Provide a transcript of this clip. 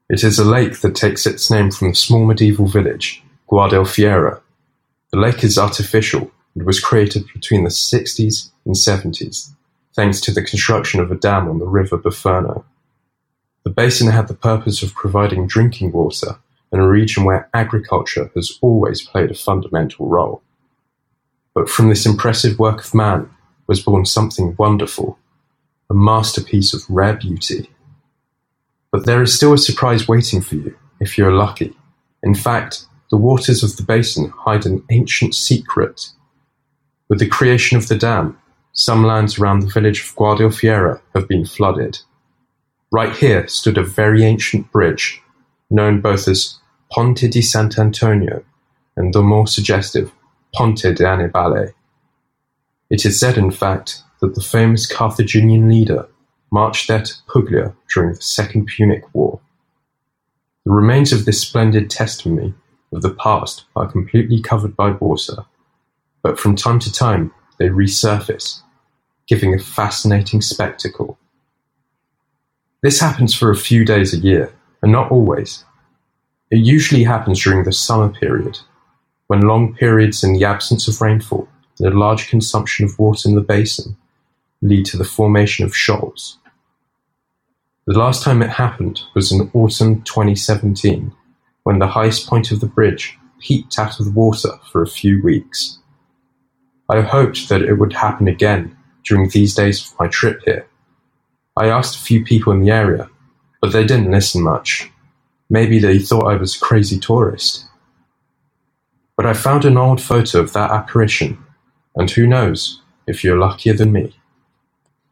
It is a lake that takes its name from the small medieval village, Guadalfiera. The lake is artificial and was created between the 60s and 70s, thanks to the construction of a dam on the river Buferno. The basin had the purpose of providing drinking water in a region where agriculture has always played a fundamental role. But from this impressive work of man was born something wonderful, a masterpiece of rare beauty. But there is still a surprise waiting for you, if you are lucky. In fact, the waters of the basin hide an ancient secret. With the creation of the dam, some lands around the village of Guadalfiera have been flooded. Right here stood a very ancient bridge, known both as Ponte di Sant'Antonio and the more suggestive Ponte de Annibale. It is said, in fact, that the famous Carthaginian leader marched there to Puglia during the Second Punic War. The remains of this splendid testimony of the past are completely covered by water, but from time to time they resurface, giving a fascinating spectacle. This happens for a few days a year, and not always. It usually happens during the summer period, when long periods in the absence of rainfall and a large consumption of water in the basin lead to the formation of shoals. The last time it happened was in autumn 2017, when the highest point of the bridge peeped out of the water for a few weeks. I hoped that it would happen again during these days of my trip here. I asked a few people in the area, but they didn't listen much. Maybe they thought I was a crazy tourist. But I found an old photo of that apparition, and who knows if you're luckier than me.